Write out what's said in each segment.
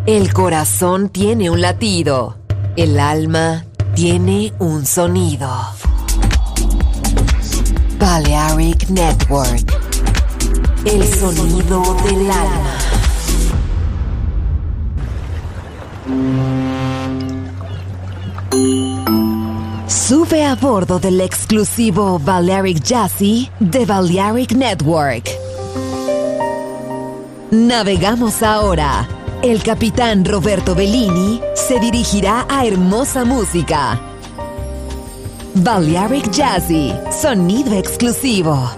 El corazón tiene un latido. El alma tiene un sonido. Balearic Network. El sonido del alma. Sube a bordo del exclusivo Balearic Jazzy de Balearic Network. Navegamos ahora. El capitán Roberto Bellini se dirigirá a hermosa música. Balearic Jazzy, sonido exclusivo.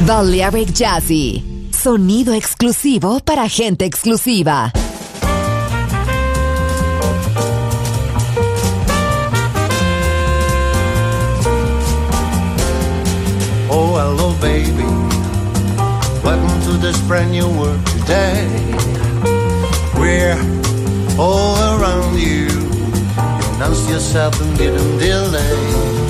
Balearic Jazzy, sonido exclusivo para gente exclusiva. Oh, hello, baby. Welcome to this brand new world today. We're all around you. You announce yourself and didn't delay.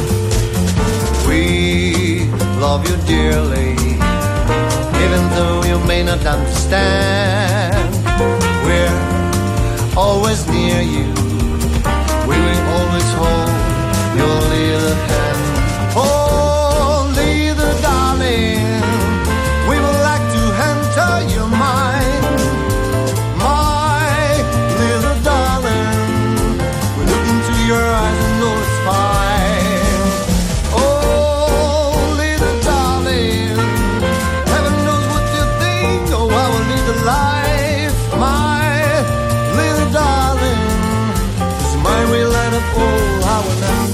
We love you dearly, even though you may not understand. We're always near you. We will always hold your little hand. Oh, little darling, we would like to enter your mind. My little darling, we look into your eyes and know it's fine. Oh, little darling, heaven knows what you think. Oh, I will lead the life. My little darling, this mind will light up all our night.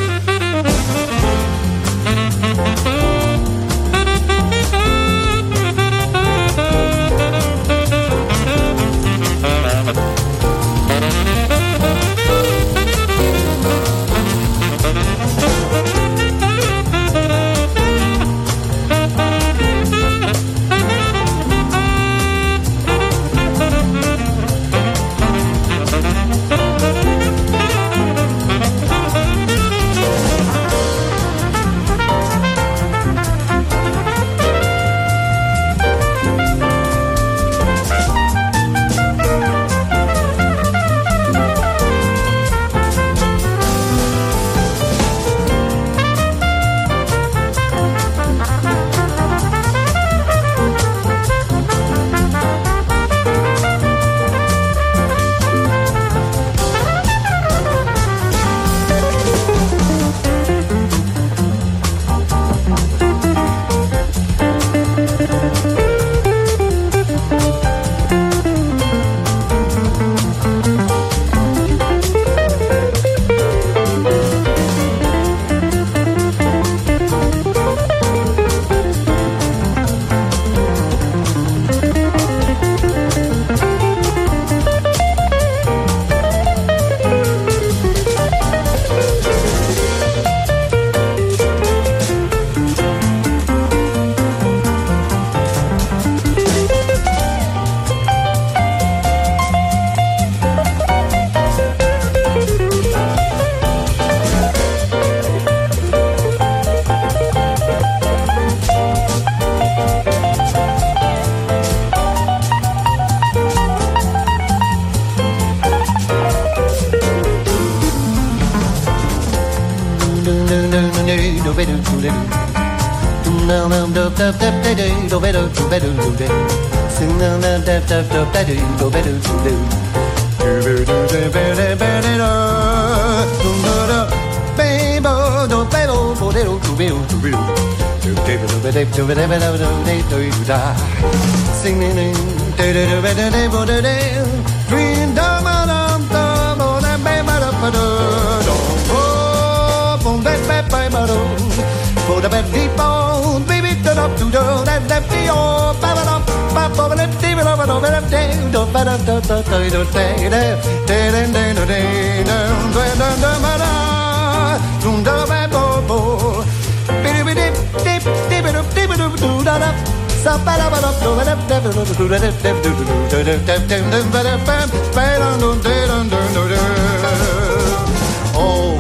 Oh,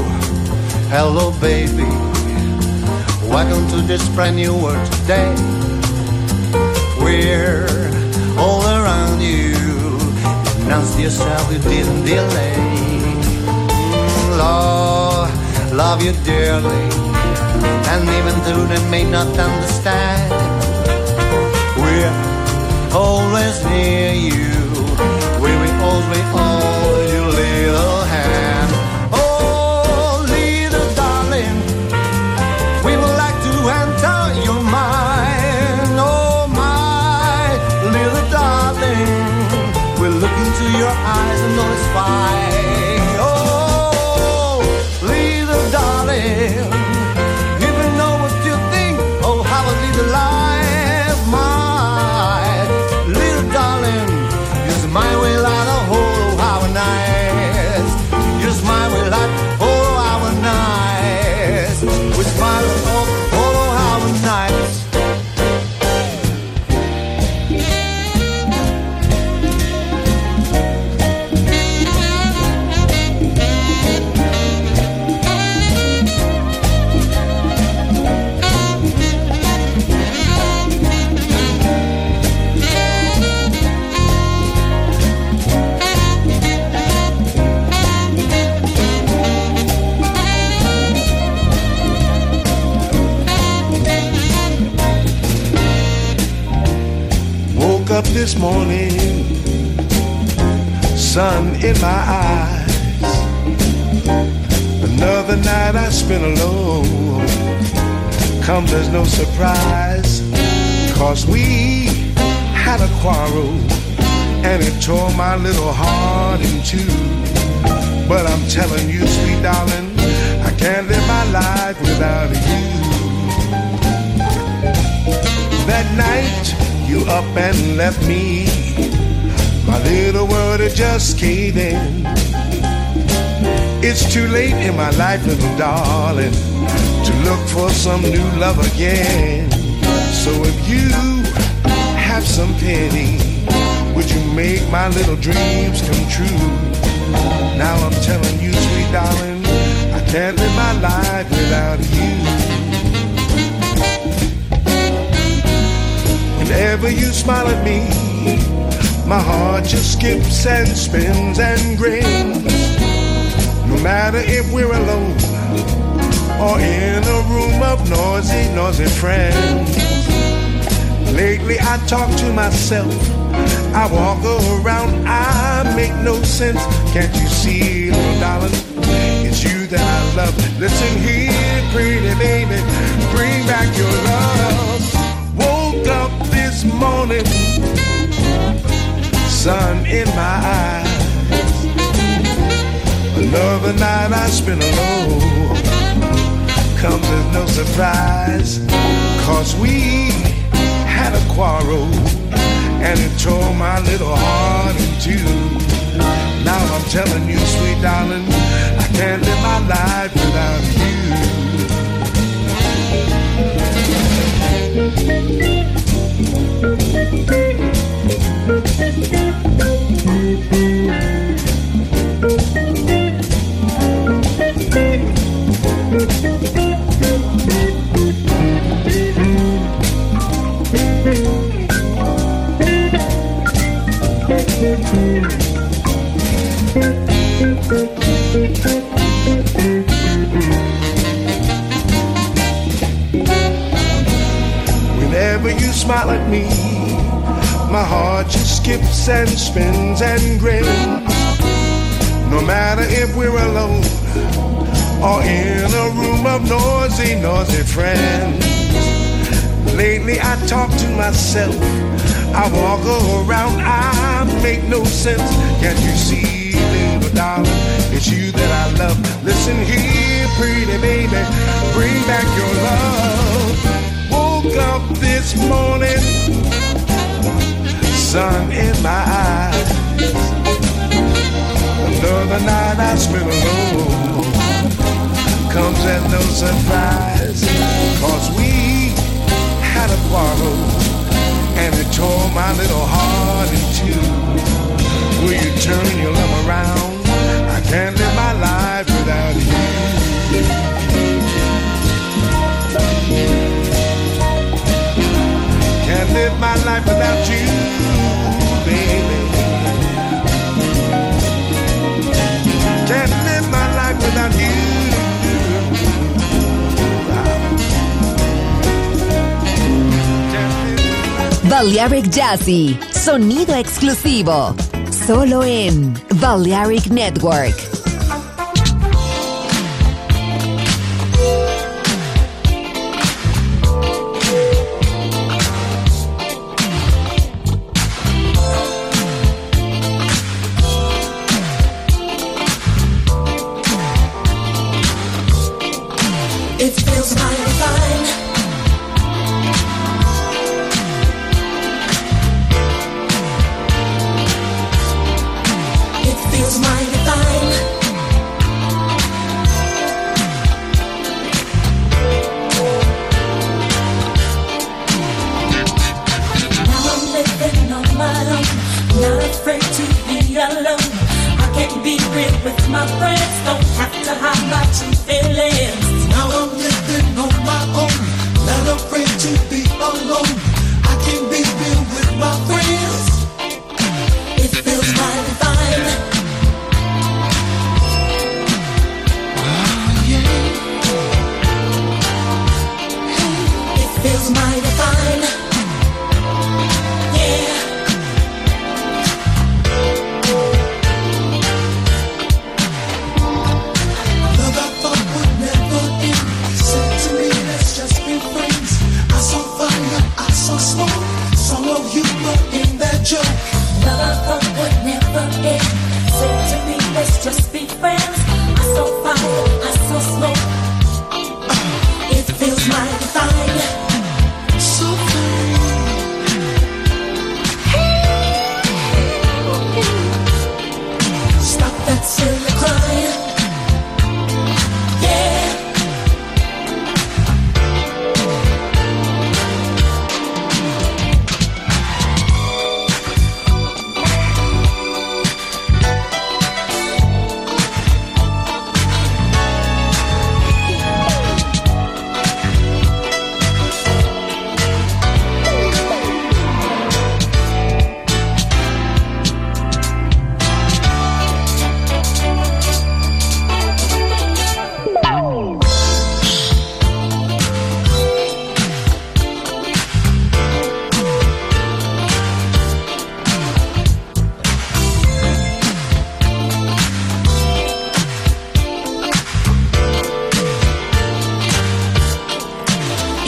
hello, baby. Welcome to this brand new world today. We're all around you. Announce yourself, you didn't delay. Love you dearly, and even though they may not understand, we're always near you. We will always hold your little hand. Oh, little darling, we would like to enter your mind. Oh, my little darling, we'll look into your eyes and know it's fine. Oh, little darling, even know what you think. Oh, how a little lie. this morning, sun in my eyes. Another night I spent alone. Comes as no surprise, 'cause we had a quarrel and it tore my little heart in two. But I'm telling you, sweet darling, I can't live my life without you. That night you up and left me, my little world had just caved in. It's too late in my life, little darling, to look for some new love again. So if you have some pity, would you make my little dreams come true? Now I'm telling you, sweet darling, I can't live my life without you. Whenever you smile at me, my heart just skips and spins and grins. No matter if we're alone or in a room of noisy, noisy friends. Lately I talk to myself, I walk around, I make no sense. Can't you see, little darling, it's you that I love. Listen here, pretty baby, bring back your love. Woke up this morning, sun in my eyes. Another night I spent alone. Comes as no surprise, 'cause we had a quarrel and it tore my little heart in two. Now I'm telling you, sweet darling, I can't live my life without you. Whenever you smile at me, my heart just skips and spins and grins. No matter if we're alone or in a room of noisy, noisy friends. Lately I talk to myself, I walk around, I make no sense. Can't you see, little darling, it's you that I love. Listen here, pretty baby, bring back your love. Woke up this morning, sun in my eyes. Another night I spent alone. Comes as no surprise, 'cause we had a quarrel and it tore my little heart in two. Will you turn your love around? I can't live my life without you. Can't live my life without you, baby. Can't live my life without you. Balearic Jazzy, sonido exclusivo, solo en Balearic Network. It feels mighty fine. It feels mighty fine. Now I'm living on my own, not afraid to be alone. I can be real with my friends, don't have to hide my true feelings. Now I'm living on my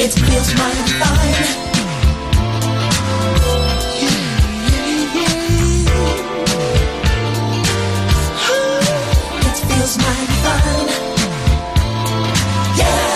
It feels mighty fine. It feels mighty fine. Yeah.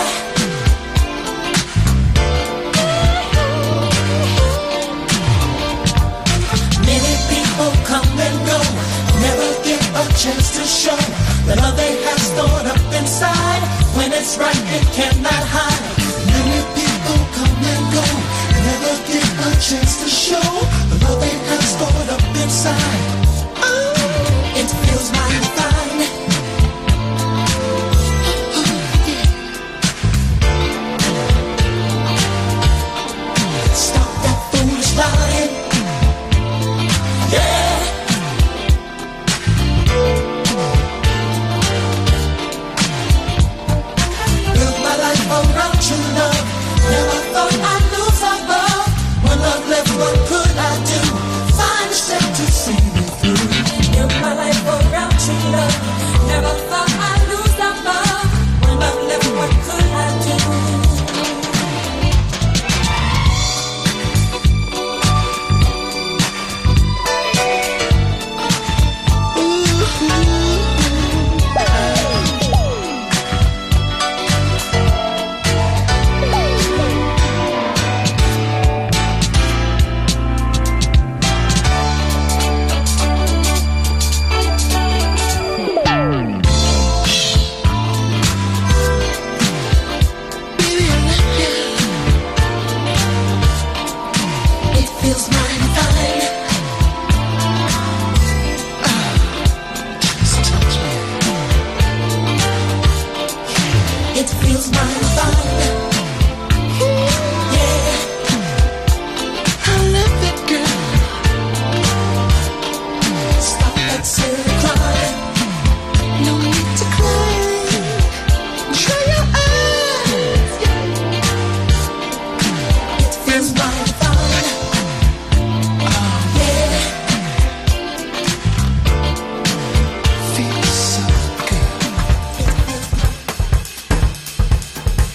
Many people come and go, never get a chance to show the love they have stored up inside. When it's right, it cannot hide. Many people come and go, never get a chance to show the love they have stored up inside. Oh, it feels mighty fine. Stop that foolish lying. Yeah. Build my life around true love. Never thought I'd lose our love. When love left, what could I do? Find a strength to see me through. Build my life around true love. Never thought I'd lose our love. When love left, what could I do? It feels mighty fine. It feels mighty fine. Yeah. I love it, girl. Stop that silly crying. No need to cry. Dry your eyes. It feels mighty fine. Yeah. Feels so good.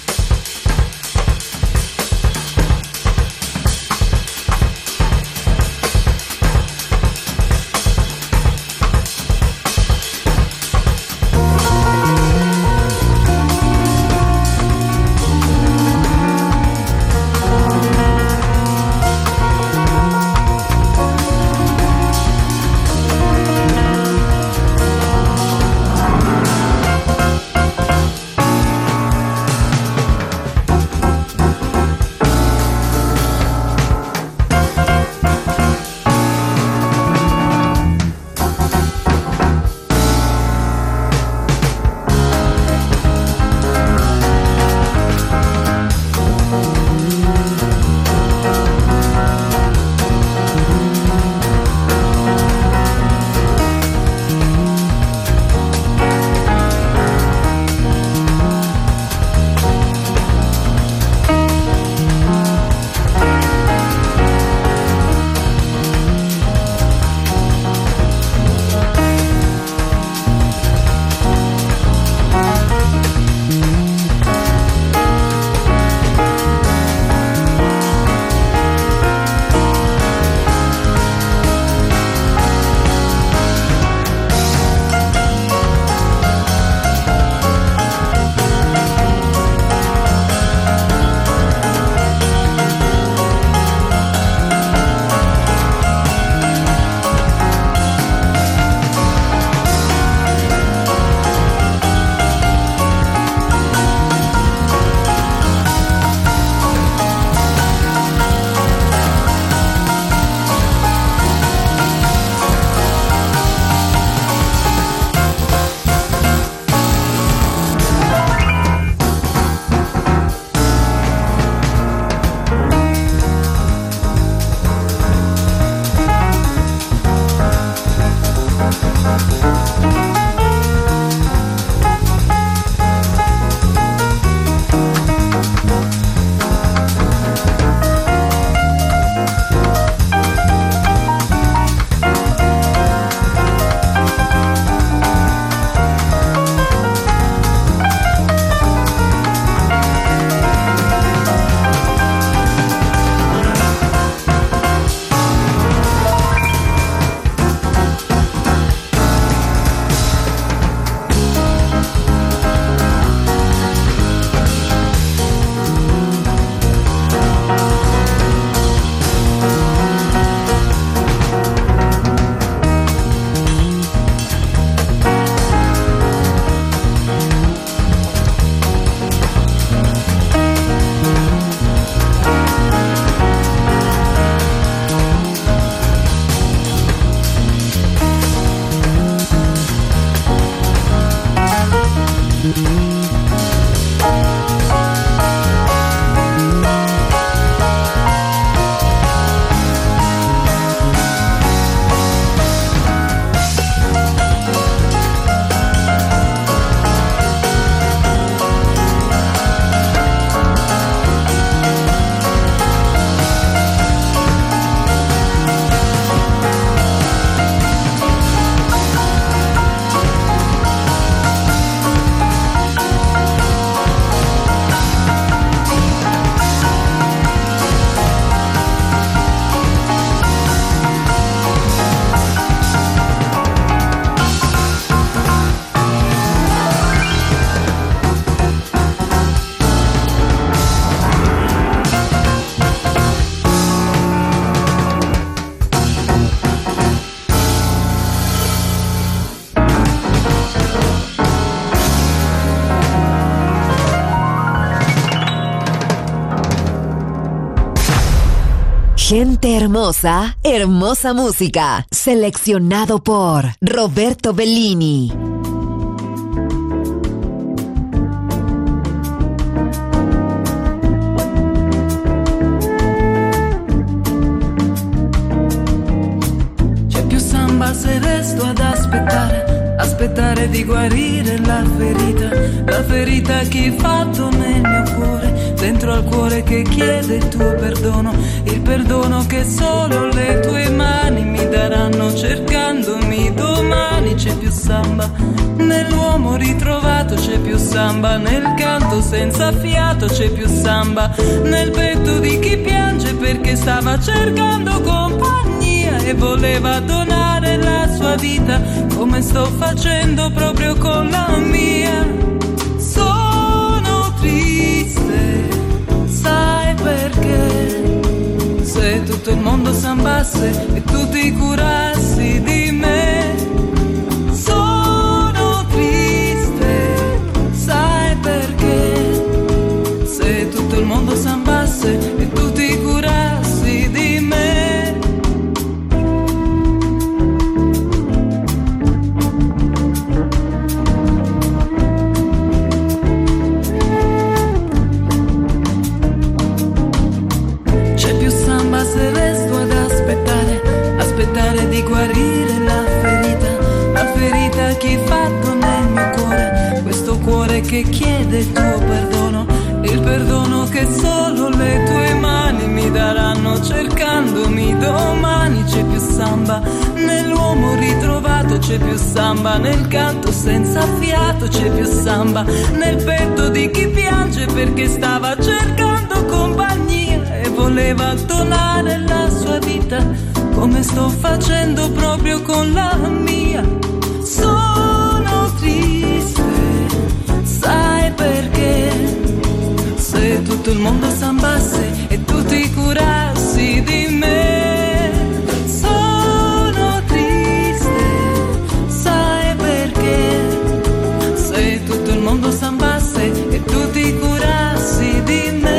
Gente hermosa, hermosa música. Seleccionado por Roberto Bellini. C'è più samba se resto ad aspettare di guarire la ferita che hai fatto nel mio cuore, dentro al cuore che chiede il tuo perdono, il perdono che solo le tue mani mi daranno cercandomi domani. C'è più samba nell'uomo ritrovato, c'è più samba nel canto senza fiato, c'è più samba nel petto di chi piange perché stava cercando compagnia e voleva donare la sua vita come sto facendo proprio con la mia. Sono triste, sai perché? Se tutto il mondo sambasse e tu ti curassi di me. Sono triste, sai perché? Se tutto il mondo sambasse e tu ti curassi di me. Se resto ad aspettare di guarire la ferita che hai fatto nel mio cuore, questo cuore che chiede il tuo perdono, il perdono che solo le tue mani mi daranno cercandomi domani. C'è più samba nell'uomo ritrovato, c'è più samba nel canto senza fiato, c'è più samba nel petto di chi piange perché stava cercando compagnia e voleva donare la sua vita come sto facendo proprio con la mia. Sono triste, sai perché? Se tutto il mondo sambasse e tu ti curassi di me. Sono triste, sai perché? Se tutto il mondo sambasse e tu ti curassi di me.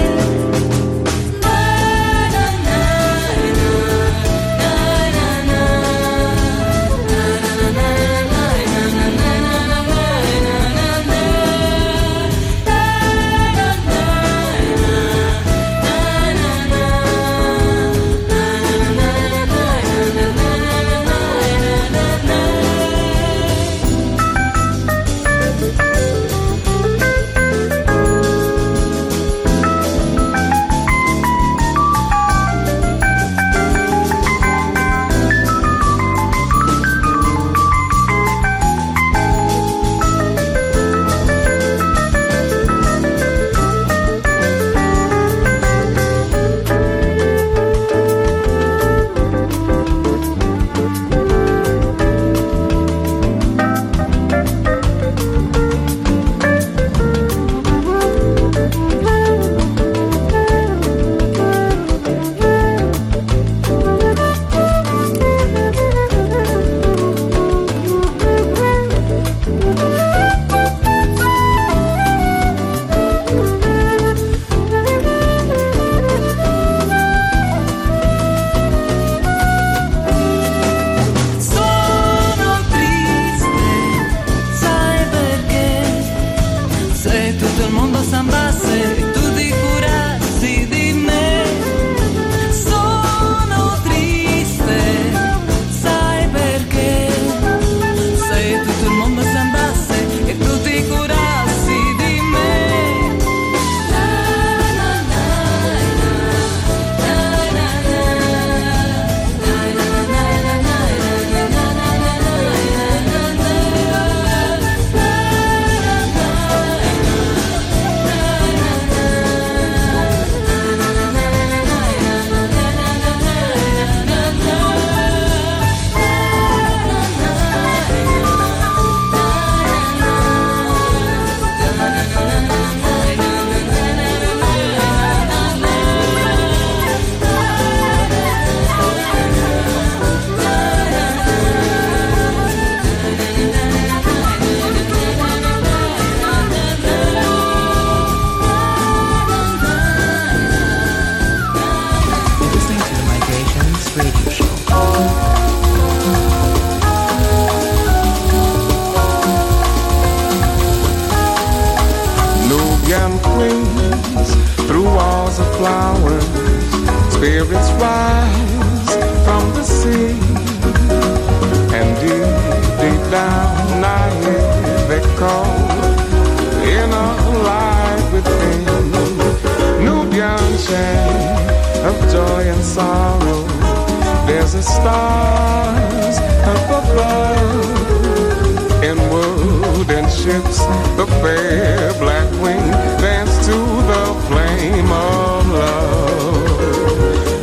Nubian queens through walls of flowers. Spirits rise from the sea, and deep down I hear they call in a light within. Nubian chant of joy and sorrow. There's a stars up above. In wooden ships, the fair black wing dance to the flame of love.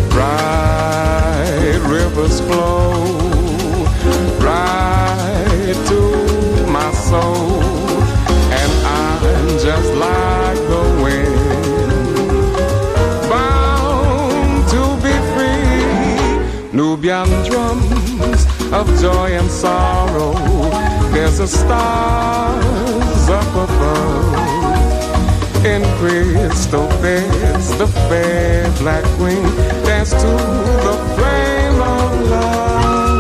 Bright rivers flow right to my soul, and I'm just like the wind, bound to be free. Nubian drums of joy and sorrow. There's a stars up above. In crystal beds, the fair black queen dance to the flame of love.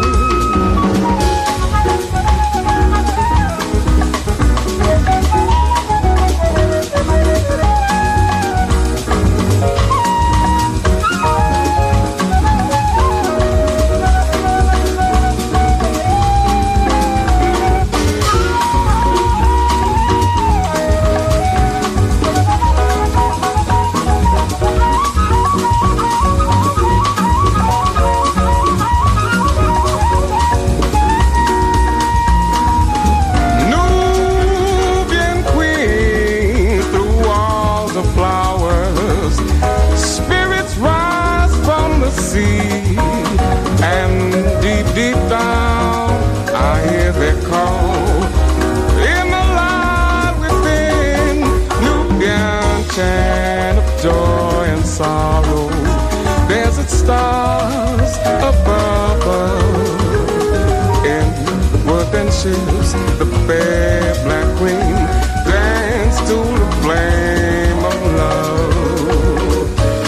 Deep down, I hear their call in the light within. Nubian chant of joy and sorrow. There's its stars above. In wooden ships, the fair black queen dance to the flame of love.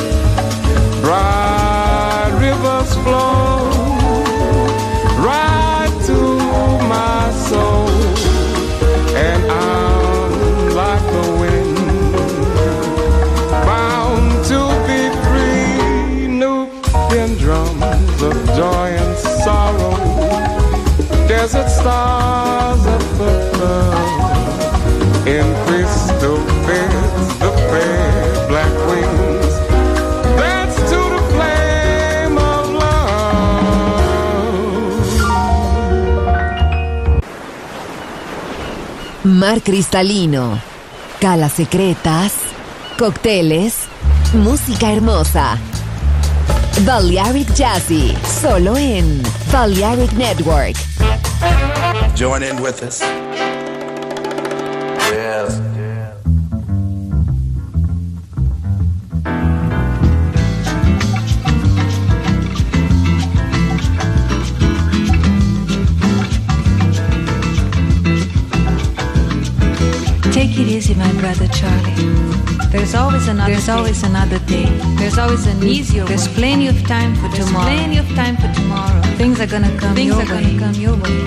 Bright rivers flow right to my soul, and I'm like the wind, bound to be free. Nubian drums of joy and sorrow. Desert stars up above. In crystal beds, the fair black wings dance to the flame of love. Mar cristalino, calas secretas, cócteles, música hermosa. Balearic Jazzy, solo en Balearic Network. Join in with us. Yes. Take it easy, my brother Charlie. There's always another day. There's always an easier way. There's plenty of time for tomorrow. Things are gonna come your way.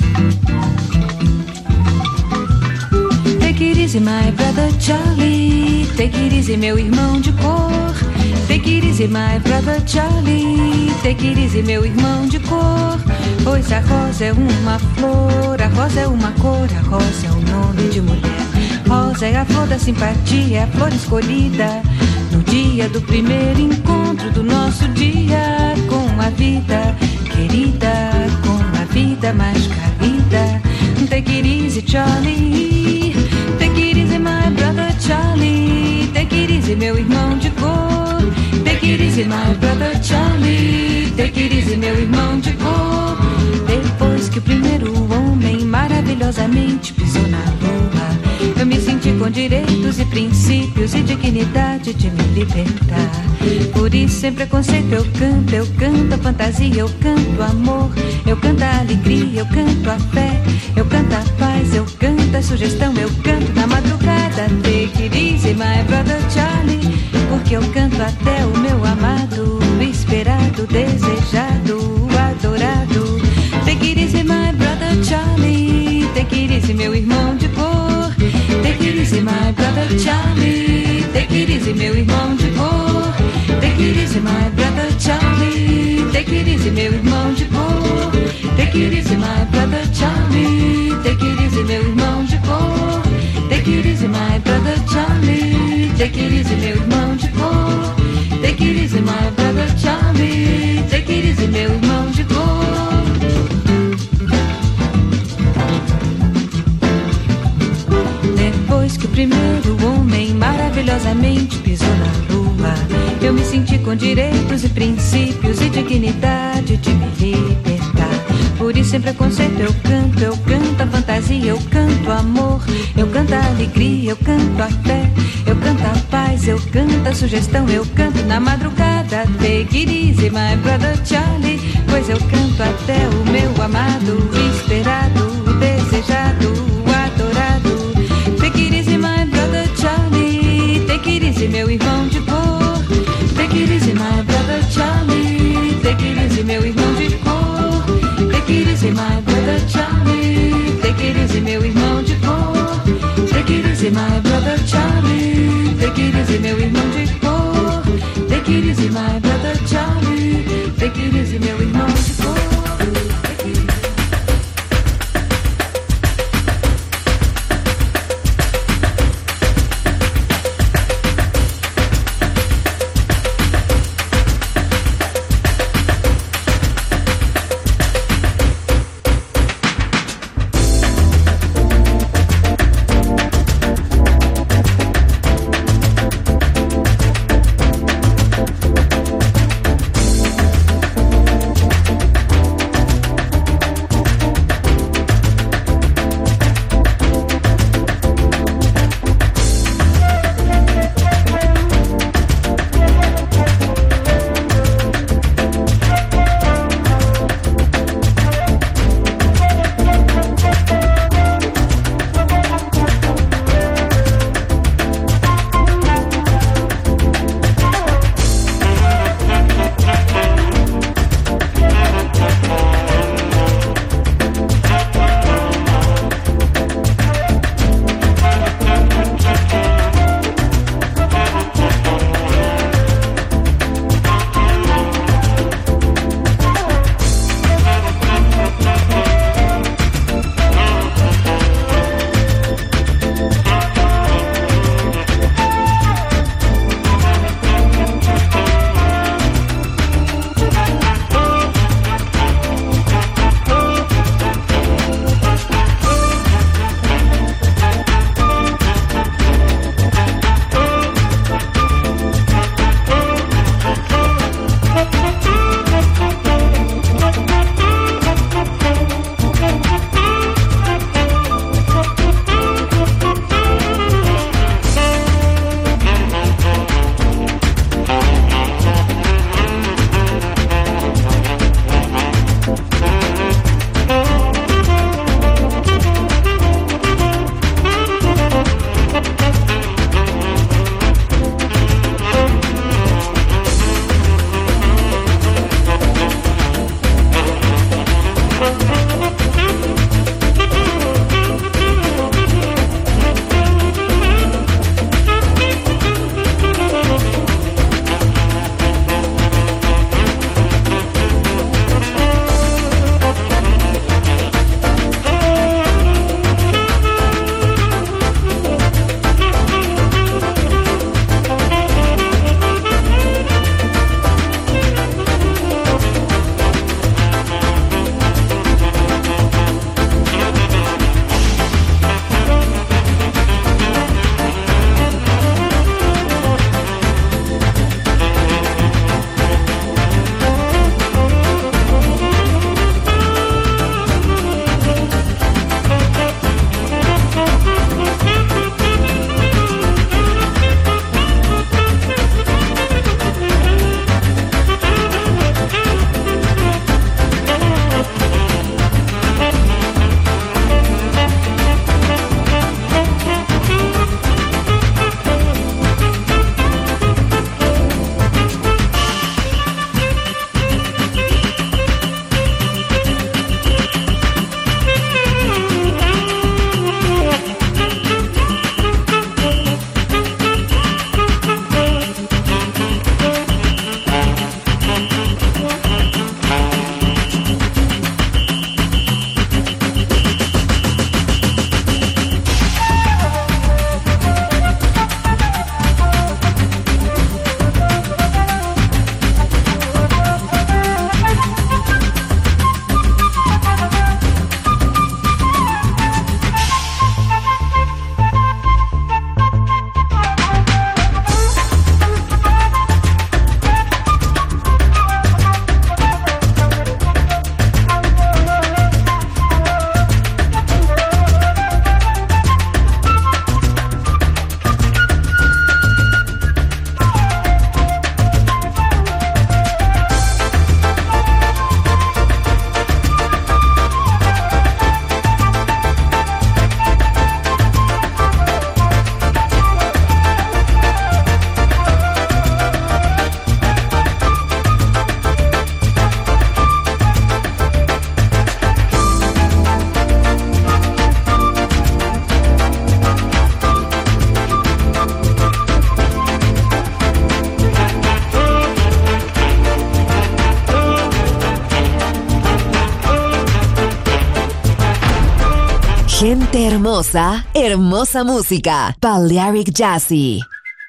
Take it easy, my brother Charlie. Take it easy, meu irmão de cor. Take it easy, my brother Charlie. Take it easy, meu irmão de cor. Pois a rosa é uma flor, a rosa é uma cor, a rosa é um nome de mulher. Rosa é a flor da simpatia, é a flor escolhida no dia do primeiro encontro do nosso dia com a vida querida, com a vida mais carida. Take it easy, Charlie. Take it easy, my brother Charlie. Take it easy, meu irmão de cor. Take it easy, my brother Charlie. Take it easy, meu irmão de cor. Depois que o primeiro homem maravilhosamente pisou na lua, eu me senti com direitos e princípios e dignidade de me libertar. Por isso, sem preconceito, eu canto a fantasia, eu canto amor, eu canto a alegria, eu canto a fé, eu canto a paz, eu canto a sugestão, eu canto na madrugada. Take it easy, my brother Charlie, porque eu canto até o meu amado, esperado, desejado, adorado. Take it easy, my brother Charlie. Take it easy, meu irmão de cor. Take it easy, my brother Charlie. it easy, my brother Charlie. Take it easy, meu irmão de cor. Take it easy, my brother Charlie. Take it easy, meu irmão de cor. Take it easy, my brother Charlie. Take it easy, meu irmão de cor. Depois que o primeiro homem maravilhosamente pisou na lua, eu me senti com direitos e princípios e dignidade de me libertar. Por isso sem preconceito eu canto a fantasia, eu canto amor, eu canto a alegria, eu canto a fé, eu canto a paz, eu canto a sugestão, eu canto na madrugada. Take it easy, my brother Charlie, pois eu canto até o meu amado, esperado, desejado, adorado. Take it easy, my brother Charlie, take it easy, meu irmão de cor. Take it easy, my brother Charlie, take it easy, meu irmão de cor. Take it easy, my brother Charlie, take it easy, meu irmão de cor. Take it easy, my brother Charlie, take it easy, meu irmão de cor. Take it easy, my brother Charlie, take it easy, meu irmão de cor. Gente hermosa, hermosa música. Balearic Jazzy.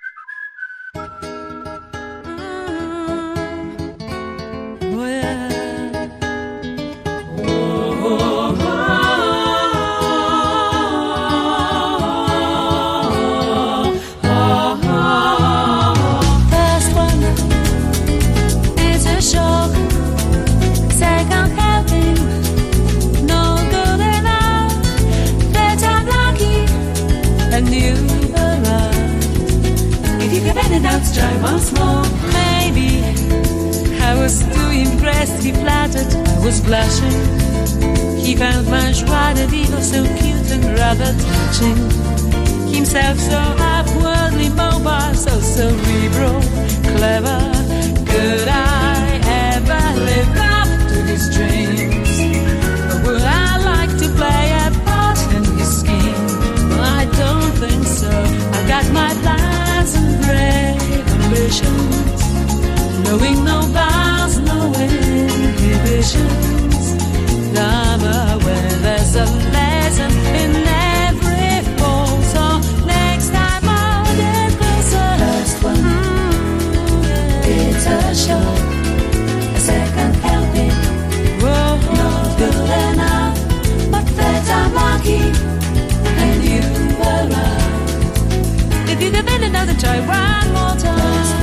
Let's try once more. Maybe I was too impressed, he flattered, I was blushing. He found my joie de vivre so cute and rather touching. Himself so upwardly mobile, so cerebral, clever. Could I ever live up to his dreams? Or would I like to play a part in his scheme? Well, I don't think so. I've got my plans and brave ambitions, knowing no bounds, no inhibitions. I'm aware there's a lesson in every fall, so next time I'll get closer. First one, it's a shock, a second helping, not good enough, but that I'm lucky, and you arrive. If you give it another try, one more time.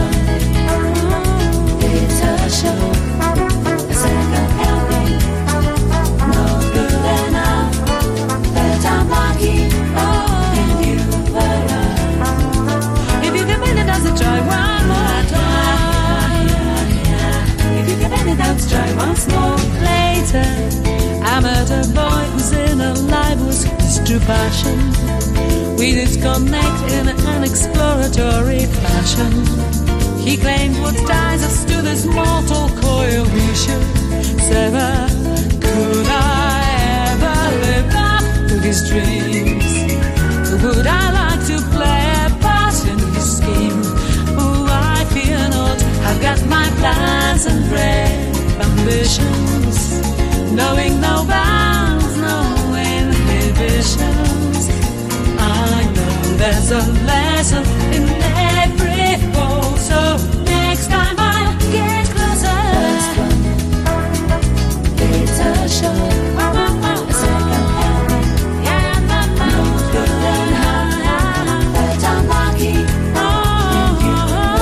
It's a show, a second helping, not good enough, but I'm lucky, and you arrive. If you give it another try, one more time. If you give it another try once more. Later, I met a boy whose inner life was his true passion. We did connect in an exploratory fashion. He claimed what ties us to this mortal coil we should sever. Could I ever live up to his dreams? Would I like to play a part in his scheme? Oh, I fear not. I've got my plans and brave ambitions, knowing no bounds, no inhibitions. I know there's a lesson in every fall, so next time I'll get closer. First one, it's a show, a second helping, not good enough, but I'm lucky, and you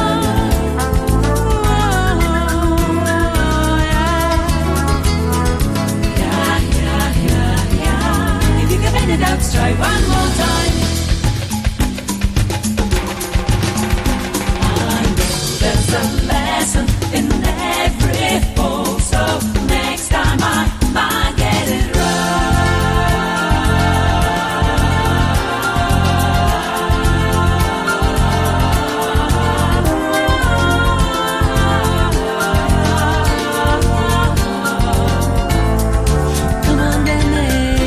arrive. If you give it out, try one more time. There's a lesson in every fall, so next time I might get it Come on, Danny.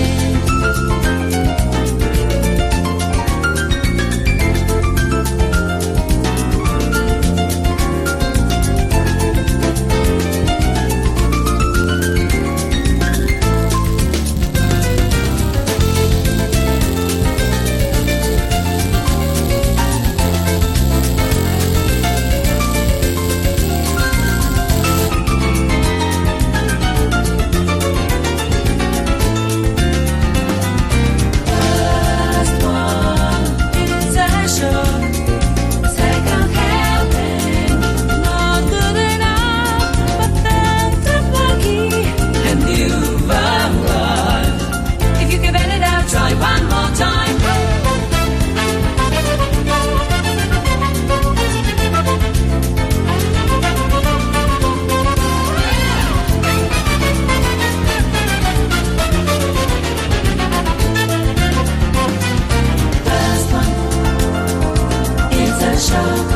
First one, it's a show, second helping, not good enough, but that's I'm lucky, and you've arrived. If you give it out, try one more time. First one, it's a show.